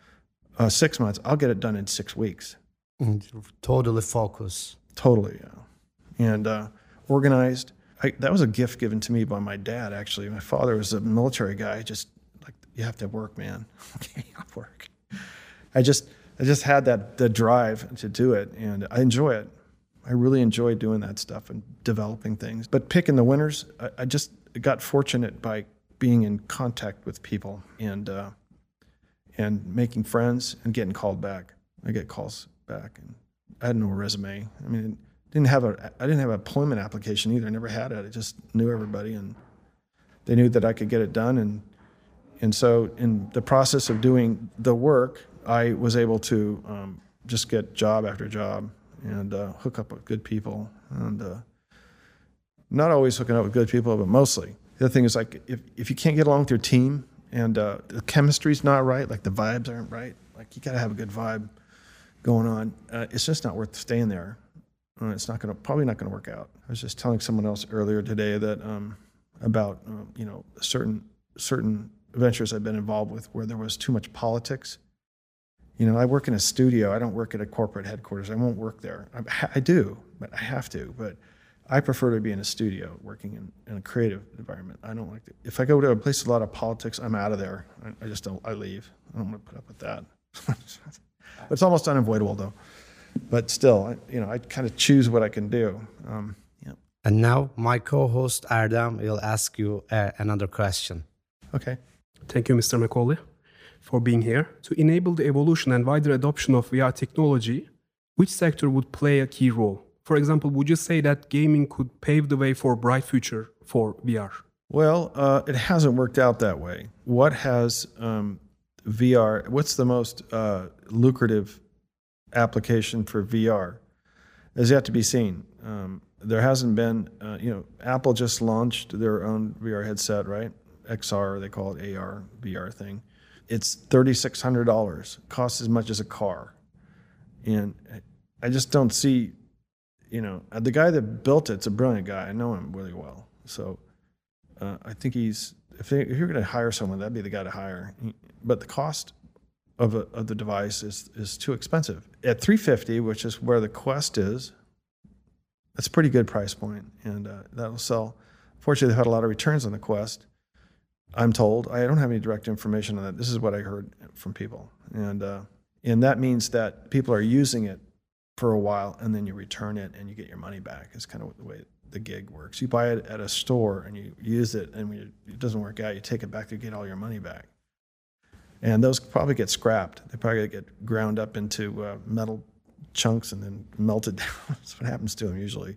S8: 6 months, I'll get it done in 6 weeks.
S2: Totally focus.
S8: Totally, yeah. And organized. That was a gift given to me by my dad, actually. My father was a military guy. Just like, you have to work, man. Okay, I'll work. I just had the drive to do it, and I enjoy it. I really enjoy doing that stuff and developing things. But picking the winners, I just got fortunate by being in contact with people and making friends and getting called back. I get calls back, and I had no resume. I mean, I didn't have an employment application either. I never had it. I just knew everybody, and they knew that I could get it done. And so in the process of doing the work, I was able to just get job after job and hook up with good people. And not always hooking up with good people, but mostly. The other thing is, like, if you can't get along with your team and the chemistry's not right, like the vibes aren't right, like you got to have a good vibe going on, it's just not worth staying there. It's probably not going to work out. I was just telling someone else earlier today that about certain ventures I've been involved with where there was too much politics. I work in a studio. I don't work at a corporate headquarters. I won't work there. I do, but I have to. But I prefer to be in a studio, working in a creative environment. I don't like to. If I go to a place with a lot of politics, I'm out of there. I just don't. I leave. I don't want to put up with that. It's almost unavoidable, though. But still, I kind of choose what I can do. Yeah.
S2: And now my co-host Erdem will ask you another question.
S8: Okay.
S3: Thank you, Mr. Macaulay, for being here. To enable the evolution and wider adoption of VR technology, which sector would play a key role? For example, would you say that gaming could pave the way for a bright future for VR?
S8: Well, it hasn't worked out that way. What has VR, what's the most lucrative application for VR is yet to be seen. There hasn't been, Apple just launched their own VR headset, right? XR, they call it AR, VR thing. It's $3,600, costs as much as a car. And I just don't see, the guy that built it's a brilliant guy. I know him really well. So I think if you're going to hire someone, that'd be the guy to hire. But the cost of the device is too expensive. At $350, which is where the Quest is, that's a pretty good price point, and that'll sell. Fortunately, they've had a lot of returns on the Quest, I'm told. I don't have any direct information on that. This is what I heard from people. And And that means that people are using it for a while and then you return it and you get your money back. It's kind of the way the gig works. You buy it at a store and you use it, and when it doesn't work out, you take it back to get all your money back. And those probably get scrapped. They probably get ground up into metal chunks and then melted down. That's what happens to them usually.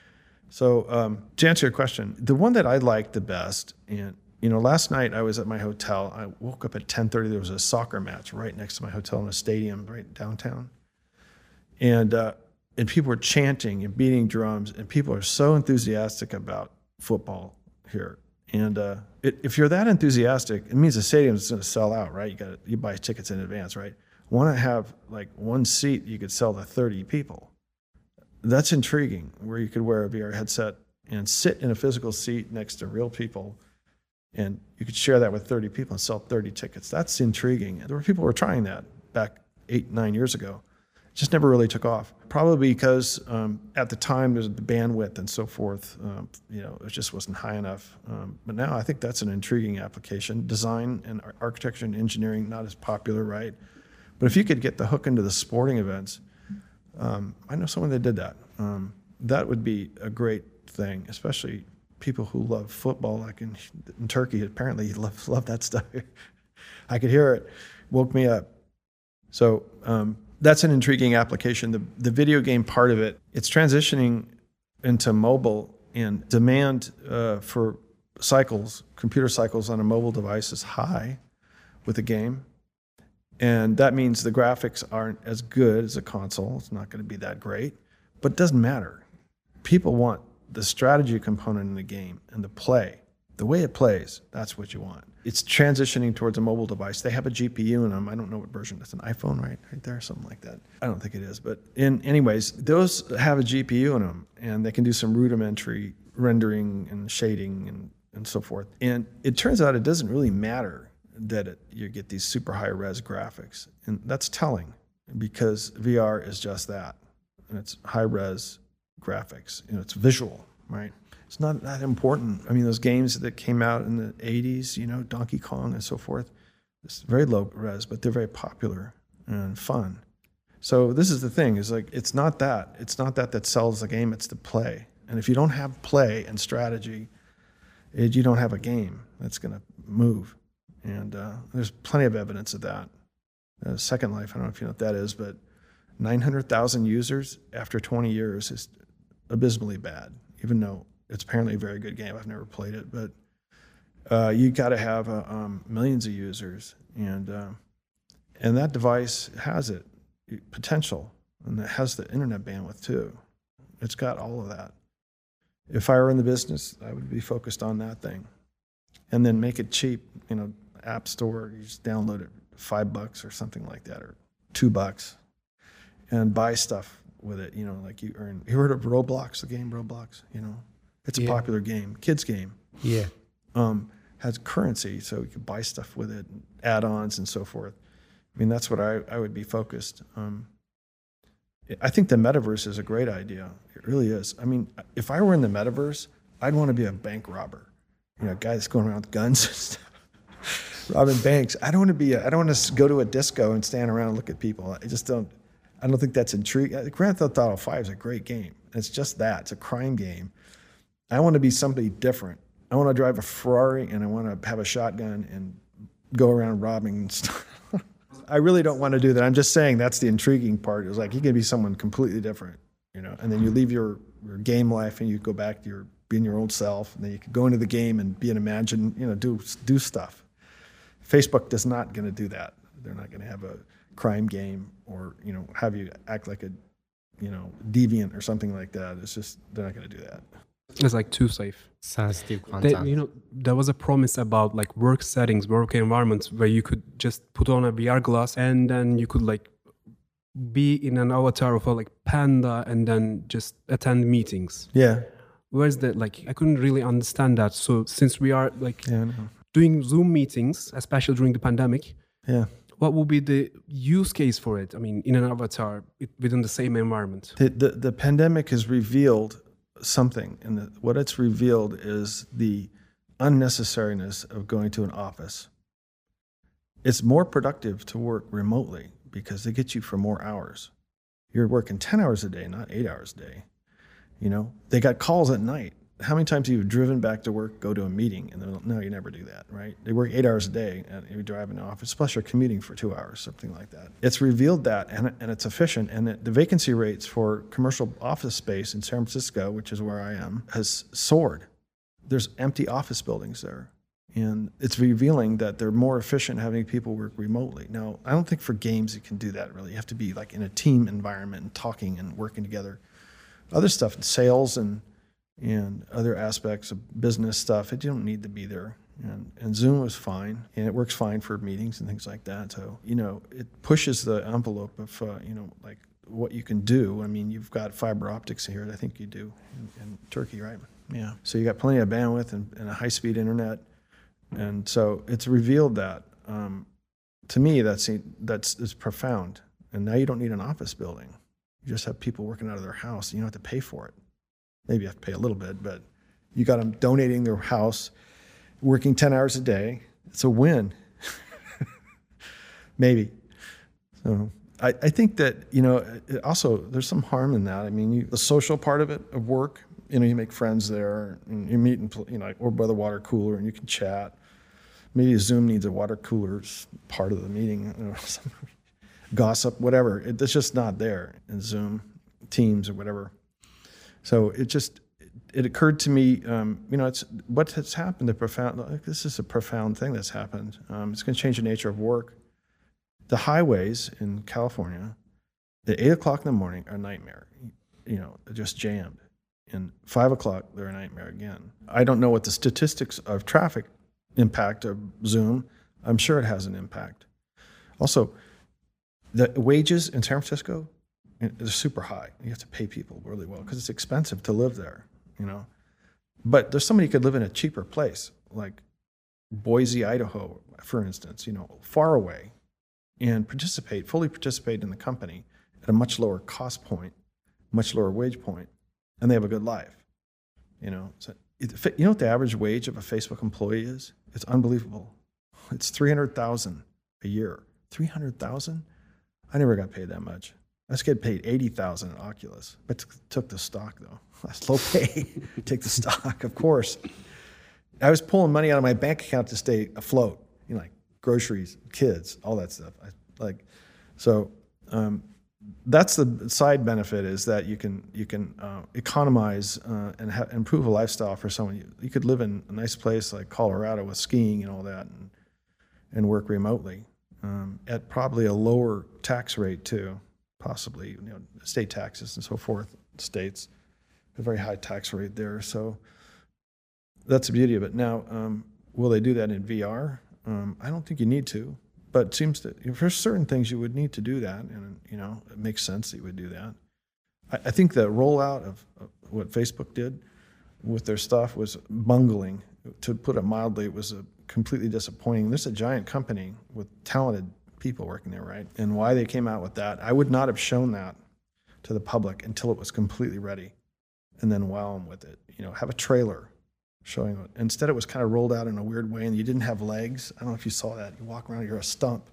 S8: So to answer your question, the one that I liked the best, and last night I was at my hotel. I woke up at 10:30. There was a soccer match right next to my hotel in a stadium right downtown. And people were chanting and beating drums, and people are so enthusiastic about football here. And if you're that enthusiastic, it means the stadium is going to sell out, right? You buy tickets in advance, right? Want to have like one seat you could sell to 30 people. That's intriguing, where you could wear a VR headset and sit in a physical seat next to real people, and you could share that with 30 people and sell 30 tickets. That's intriguing. There were people who were trying that back 8-9 years ago. It just never really took off. Probably because at the time there's the bandwidth and so forth. It just wasn't high enough. But now I think that's an intriguing application. Design and architecture and engineering, not as popular, right? But if you could get the hook into the sporting events, I know someone that did that. That would be a great thing, especially people who love football, like in Turkey. Apparently, you love that stuff. I could hear it. Woke me up. So that's an intriguing application. The video game part of it, it's transitioning into mobile, and demand for computer cycles on a mobile device is high with the game. And that means the graphics aren't as good as a console. It's not going to be that great, but it doesn't matter. People want the strategy component in the game and the play. The way it plays, that's what you want. It's transitioning towards a mobile device. They have a GPU in them. I don't know what version. It's an iPhone right there, something like that. I don't think it is. But anyways, those have a GPU in them, and they can do some rudimentary rendering and shading and so forth. And it turns out it doesn't really matter that you get these super high-res graphics. And that's telling, because VR is just that. And it's high-res graphics. It's visual, right? It's not that important. I mean, those games that came out in the 80s, Donkey Kong and so forth, it's very low res, but they're very popular and fun. So this is the thing, is like, it's not that sells the game, it's the play. And if you don't have play and strategy, you don't have a game that's going to move. And there's plenty of evidence of that. Second Life, I don't know if you know what that is, but 900,000 users after 20 years is abysmally bad, even though it's apparently a very good game. I've never played it, but you got to have millions of users, and that device has potential, and it has the internet bandwidth too. It's got all of that. If I were in the business, I would be focused on that thing, and then make it cheap. App Store, you just download it, $5 or something like that, or $2, and buy stuff with it. Like you earn. You heard of Roblox? The game Roblox. It's a popular game, kids game.
S2: Yeah.
S8: Has currency, so you can buy stuff with it, add-ons and so forth. I mean, that's what I would be focused. I think the metaverse is a great idea. It really is. I mean, if I were in the metaverse, I'd want to be a bank robber. A guy that's going around with guns and stuff, robbing banks. I don't want to go to a disco and stand around and look at people. I don't think that's intriguing. Grand Theft Auto 5 is a great game. It's just that. It's a crime game. I want to be somebody different. I want to drive a Ferrari, and I want to have a shotgun and go around robbing stuff. I really don't want to do that. I'm just saying that's the intriguing part. It's like you can be someone completely different, and then you leave your game life and you go back to being your old self, and then you can go into the game and be an do stuff. Facebook is not going to do that. They're not going to have a crime game or have you act like a deviant or something like that. It's just they're not going to do that.
S3: It's like too safe.
S2: Sensitive content.
S3: There was a promise about like work settings, work environments where you could just put on a VR glass and then you could like be in an avatar of a like panda and then just attend meetings.
S8: Yeah.
S3: Where's that? Like, I couldn't really understand that. So since we are like doing Zoom meetings, especially during the pandemic, what would be the use case for it? I mean, in an avatar within the same environment.
S8: The pandemic has revealed something, and what it's revealed is the unnecessariness of going to an office. It's more productive to work remotely, because they get you for more hours. You're working 10 hours a day, not 8 hours a day. You know, they got calls at night. How many times have you driven back to work, go to a meeting, and then, no, you never do that, right? They work 8 hours a day, and you drive in the office, plus you're commuting for 2 hours, something like that. It's revealed that, and it's efficient, and the vacancy rates for commercial office space in San Francisco, which is where I am, has soared. There's empty office buildings there, and it's revealing that they're more efficient having people work remotely. Now, I don't think for games you can do that, really. You have to be like in a team environment and talking and working together. Other stuff, sales and other aspects of business stuff, it don't need to be there. And Zoom was fine, and it works fine for meetings and things like that. So, you know, it pushes the envelope of, you know, like what you can do. I mean, you've got fiber optics here, I think you do, in Turkey, right? Yeah. So you got plenty of bandwidth and a high-speed internet. And so it's revealed that. To me, that's profound. And now you don't need an office building. You just have people working out of their house. You don't have to pay for it. Maybe you have to pay a little bit, but you got them donating their house, working 10 hours a day. It's a win. Maybe. So I think that, you know, also there's some harm in that. I mean, the social part of it, of work, you know, you make friends there, and you meet, you know, or by the water cooler, and you can chat. Maybe Zoom needs a water cooler part of the meeting, you know, gossip, whatever. It's just not there in Zoom, Teams, or whatever. So it occurred to me, you know, it's what has happened. This is a profound thing that's happened. It's going to change the nature of work. The highways in California, at 8 o'clock in the morning, are a nightmare. You know, they're just jammed. And 5 o'clock, they're a nightmare again. I don't know what the statistics of traffic impact of Zoom. I'm sure it has an impact. Also, the wages in San Francisco, they're super high. You have to pay people really well because it's expensive to live there, you know. But there's somebody who could live in a cheaper place, like Boise, Idaho, for instance, you know, far away, and fully participate in the company at a much lower cost point, much lower wage point, and they have a good life, you know. So, you know what the average wage of a Facebook employee is? It's unbelievable. It's $300,000 a year. $300,000? I never got paid that much. I just get paid $80,000 at Oculus, but took the stock though. That's low pay. Take the stock, of course. I was pulling money out of my bank account to stay afloat. You know, like groceries, kids, all that stuff. That's the side benefit, is that you can economize and improve a lifestyle for someone. You could live in a nice place like Colorado with skiing and all that, and work remotely at probably a lower tax rate too. Possibly, you know, state taxes and so forth, states, a very high tax rate there. So that's the beauty of it. Now, will they do that in VR? I don't think you need to, but it seems that for certain things you would need to do that, and you know, it makes sense that you would do that. I think the rollout of what Facebook did with their stuff was bungling. To put it mildly, it was completely disappointing. This is a giant company with talented people working there, right? And why they came out with that, I would not have shown that to the public until it was completely ready, and then wow them with it. You know, have a trailer showing it. Instead, it was kind of rolled out in a weird way, and you didn't have legs. I don't know if you saw that. You walk around, you're a stump.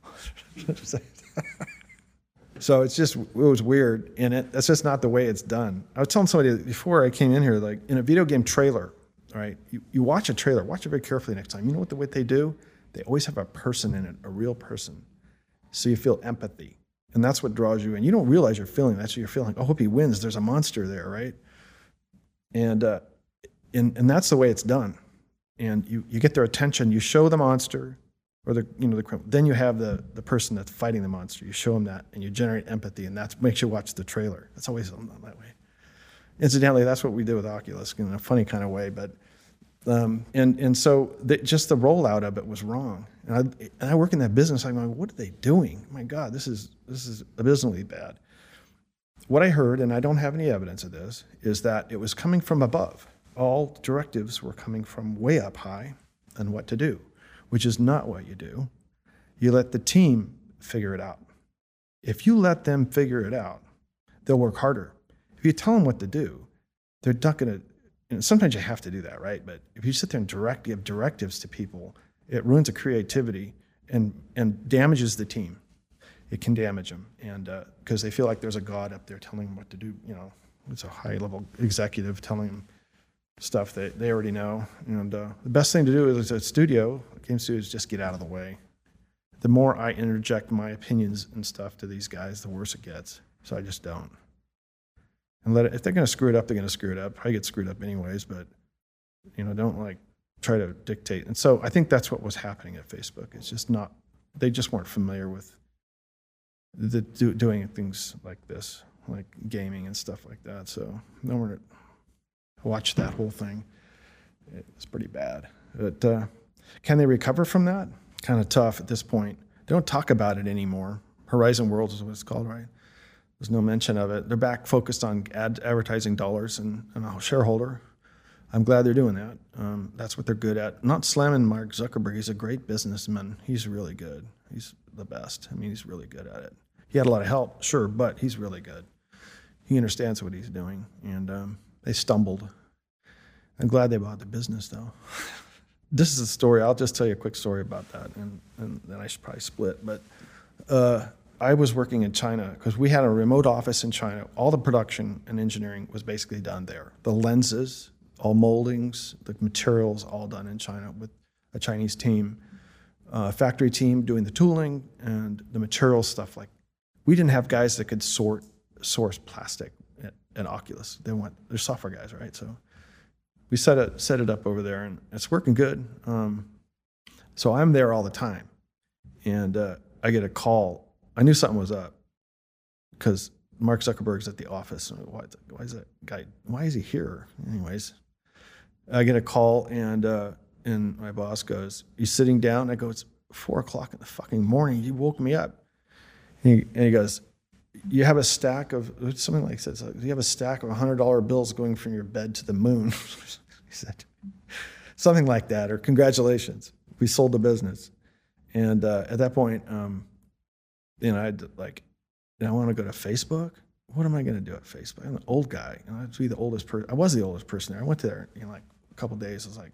S8: So it was weird, and that's just not the way it's done. I was telling somebody before I came in here, like in a video game trailer, all right, you watch a trailer, watch it very carefully next time. You know what they do? They always have a person in it, a real person. So you feel empathy. And that's what draws you in. You don't realize you're feeling that. So you're feeling, I hope he wins. There's a monster there, right? And that's the way it's done. And you get their attention. You show the monster, or the criminal. Then you have the person that's fighting the monster. You show them that, and you generate empathy, and that makes you watch the trailer. It's always done that way. Incidentally, that's what we did with Oculus in a funny kind of way, but so just the rollout of it was wrong. And I work in that business. I'm going, what are they doing? My God, this is abysmally bad. What I heard, and I don't have any evidence of this, is that it was coming from above. All directives were coming from way up high on what to do, which is not what you do. You let the team figure it out. If you let them figure it out, they'll work harder. If you tell them what to do, they're not going to. And sometimes you have to do that, right? But if you sit there and give directives to people, it ruins the creativity and damages the team. it can damage them, and because they feel like there's a god up there telling them what to do. You know, it's a high-level executive telling them stuff that they already know. And the best thing to do is a studio, game studio, is just get out of the way. The more I interject my opinions and stuff to these guys, the worse it gets. So I just don't. And let it, if they're going to screw it up, they're going to screw it up. I get screwed up anyways, but you know, don't like try to dictate. And so I think that's what was happening at Facebook. It's just not, they just weren't familiar with doing things like this, like gaming and stuff like that. So no one watched that whole thing. It's pretty bad. But can they recover from that? Kind of tough at this point. They don't talk about it anymore. Horizon Worlds is what it's called, right? There's no mention of it. They're back focused on advertising dollars and a shareholder. I'm glad they're doing that. That's what they're good at. Not slamming Mark Zuckerberg. He's a great businessman. He's really good. He's the best. I mean, he's really good at it. He had a lot of help, sure, but he's really good. He understands what he's doing, and they stumbled. I'm glad they bought the business, though. This is a story. I'll just tell you a quick story about that, and then I should probably split. But I was working in China because we had a remote office in China. All the production and engineering was basically done there. The lenses, all moldings, the materials, all done in China with a Chinese team, factory team doing the tooling and the material stuff. Like, we didn't have guys that could source plastic at Oculus. They're software guys, right? So we set it up over there, and it's working good. So I'm there all the time, and I get a call. I knew something was up because Mark Zuckerberg's at the office. Why is that guy? Why is he here? Anyways, I get a call, and my boss goes, "You sitting down?" I go, "It's 4:00 in the fucking morning. You woke me up." And he goes, "You have a stack of," something like that. "You have a stack of $100 bills going from your bed to the moon." He said something like that, or "Congratulations, we sold the business." And at that point, you know, I want to go to Facebook. What am I going to do at Facebook? I'm an old guy. You know, I'd be the oldest person. I was the oldest person there. I went there, you know, like a couple of days. I was like,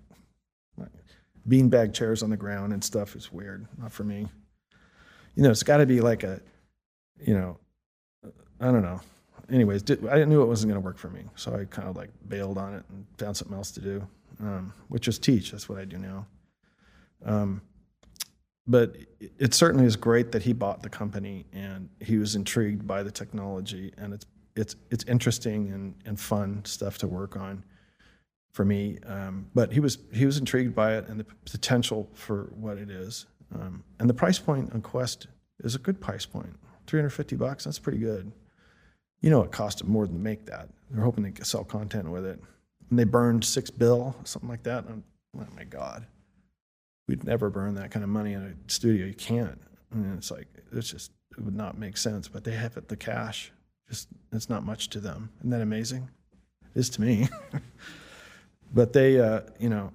S8: beanbag chairs on the ground and stuff is weird. Not for me. You know, it's got to be like a, you know, I don't know. Anyways, I knew it wasn't going to work for me. So I kind of like bailed on it and found something else to do, which was teach. That's what I do now. But it certainly is great that he bought the company and he was intrigued by the technology, and it's interesting and fun stuff to work on for me. But he was intrigued by it and the potential for what it is. And the price point on Quest is a good price point. $350, that's pretty good. You know, it cost them more than to make that. They're hoping they can sell content with it. And they burned $6 billion, something like that. Oh my God. We'd never burn that kind of money in a studio. You can't. I mean, it would not make sense. But they have the cash. It's not much to them. Isn't that amazing? It is to me. But they, you know,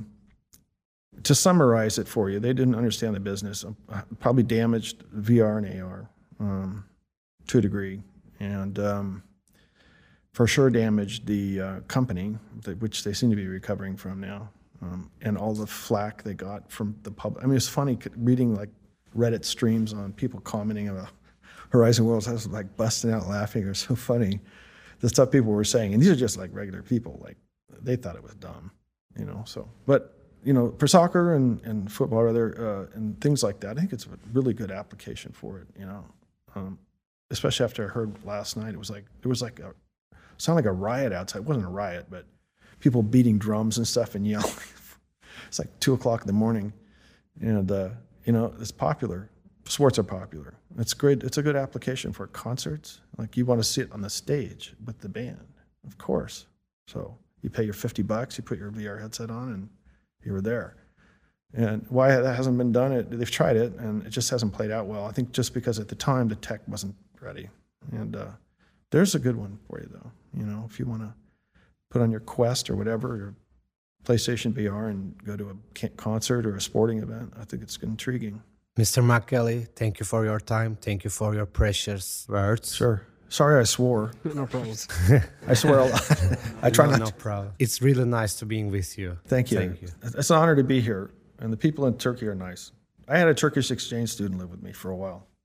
S8: to summarize it for you, they didn't understand the business. Probably damaged VR and AR to a degree, and for sure damaged the company, which they seem to be recovering from now. And all the flack they got from the public. I mean, it's funny reading like Reddit streams on people commenting about Horizon Worlds. I was like busting out laughing. It was so funny, the stuff people were saying. And these are just like regular people. Like, they thought it was dumb, you know. So, but you know, for soccer and football, rather, and things like that, I think it's a really good application for it. You know, especially after I heard last night, it was like sounded like a riot outside. It wasn't a riot, but people beating drums and stuff and yelling. It's like 2:00 in the morning, and you know, it's popular. Sports are popular. It's great. It's a good application for concerts. Like, you want to sit on the stage with the band, of course. So you pay your $50, you put your VR headset on, and you were there. And why that hasn't been done? They've tried it, and it just hasn't played out well. I think just because at the time the tech wasn't ready. And there's a good one for you, though. You know, if you want to put on your Quest or whatever, your PlayStation VR, and go to a concert or a sporting event, I think it's intriguing.
S2: Mr. McKelly, thank you for your time. Thank you for your precious words.
S8: Sure. Sorry I swore.
S3: No problem.
S8: I swear a lot. I try not to.
S2: No problem. It's really nice to being with you.
S8: Thank you.
S2: Thank you.
S8: It's an honor to be here, and the people in Turkey are nice. I had a Turkish exchange student live with me for a while.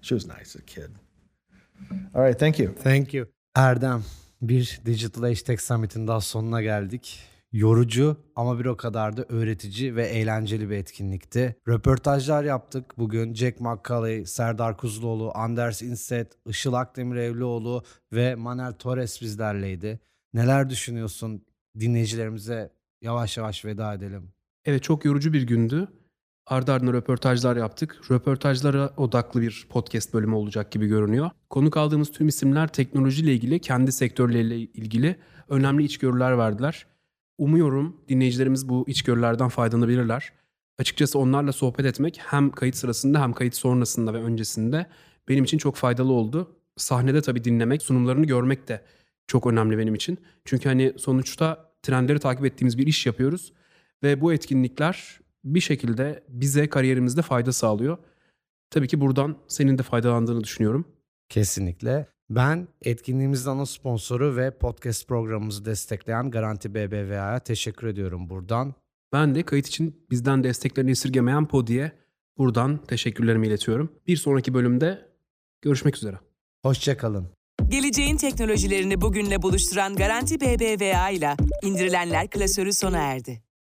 S8: She was nice as a kid. All right, thank you.
S2: Thank you. Erdem, bir Digital Age Tech Summit'in daha sonuna geldik. Yorucu ama bir o kadar da öğretici ve eğlenceli bir etkinlikti. Röportajlar yaptık. Bugün Jack McCauley, Serdar Kuzuloğlu, Anders Inset, Işıl Akdemir Evlioğlu ve Manuel Torres bizlerleydi. Neler düşünüyorsun? Dinleyicilerimize yavaş yavaş veda edelim.
S3: Evet, çok yorucu bir gündü. Ardı ardına röportajlar yaptık. Röportajlara odaklı bir podcast bölümü olacak gibi görünüyor. Konuk aldığımız tüm isimler teknolojiyle ilgili, kendi sektörleriyle ilgili önemli içgörüler verdiler. Umuyorum dinleyicilerimiz bu içgörülerden faydalanabilirler. Açıkçası onlarla sohbet etmek hem kayıt sırasında hem kayıt sonrasında ve öncesinde benim için çok faydalı oldu. Sahnede tabii dinlemek, sunumlarını görmek de çok önemli benim için. Çünkü hani sonuçta trendleri takip ettiğimiz bir iş yapıyoruz ve bu etkinlikler bir şekilde bize kariyerimizde fayda sağlıyor. Tabii ki buradan senin de faydalandığını düşünüyorum.
S2: Kesinlikle. Ben etkinliğimizin ana sponsoru ve podcast programımızı destekleyen Garanti BBVA'ya teşekkür ediyorum buradan.
S3: Ben de kayıt için bizden desteklerini esirgemeyen Podi'ye buradan teşekkürlerimi iletiyorum. Bir sonraki bölümde görüşmek üzere.
S2: Hoşça kalın.
S1: Geleceğin teknolojilerini bugünle buluşturan Garanti BBVA ile indirilenler klasörü sona erdi.